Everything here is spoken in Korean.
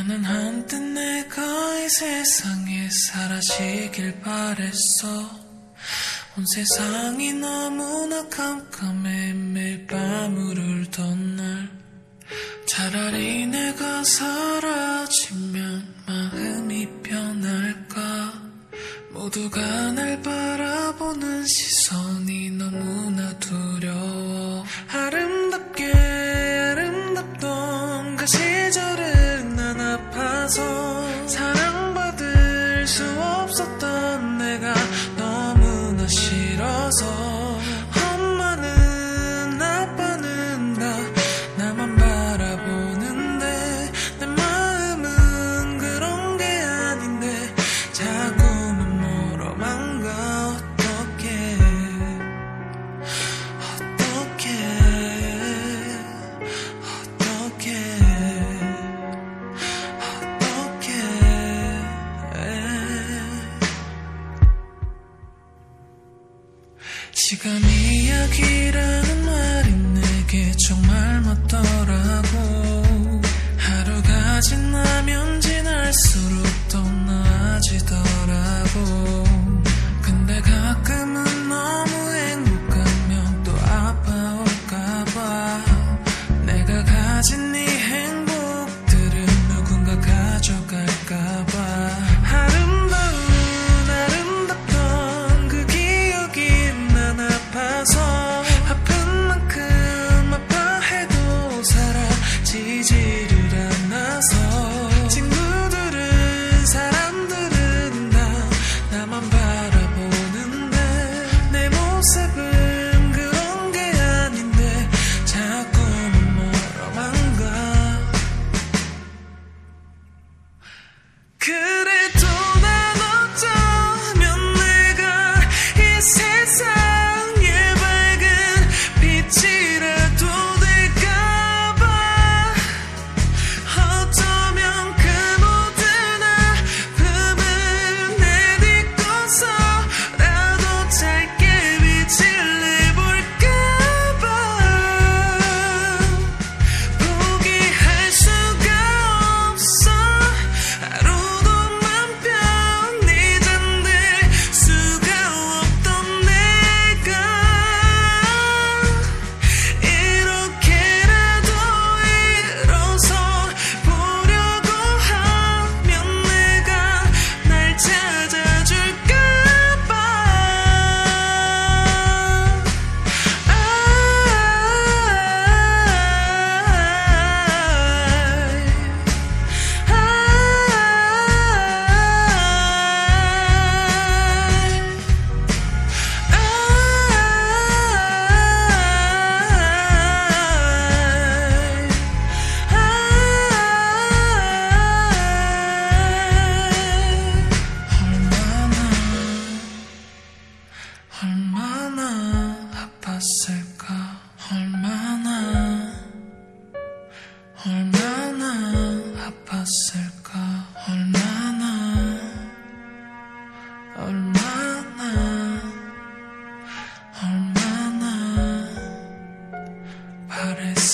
나는 한때 내가 이 세상에 사라지길 바랬어. 온 세상이 너무나 깜깜해 매일 밤을 울던 날. 차라리 내가 사라지면 마음이 편할까. 모두가 날 바라보는 시선이 너무나 두려워. 아름답게 아름답던 그 시절은 난 아파서 사랑받을 수 없었던 내가 너무나 싫어서. 엄마는 아빠는 다 나만 바라보는데 내 마음은 그런 게 아닌데 자꾸만 멀어만 가. 어떡해 시간 이야기라는 말이 내게 정말 맞더라고. 하루가 지나면 지날수록 더 나아지더라고. 근데 가끔은 너무 행복하면 또 아파올까봐. 내가 가진 이 행복들은 누군가 가져갈까봐. 아름답던 그 기억이 난 아파서 아픈 만큼 아파해도 사라지지를 않아서. 친구들은 사람들은 다 나만 바라보는데 내 모습은 그런 게 아닌데 자꾸만 멀어만 가. 그래도 난 어쩌면 내가 이 세상에 밝은 빛이라도 될까봐. 어쩌면 그 모든 아픔은 내딛고서라도 짧게 빛을 내볼까봐. 포기할 수가 없어. 하루도 맘 편히 잠들 수가 없던 내가 이렇게라도 일어서 보려고 하면 내가 날 찾아줄까봐. 얼마나 아팠을까. 얼마나 아팠을까. 얼마나 바랬을까.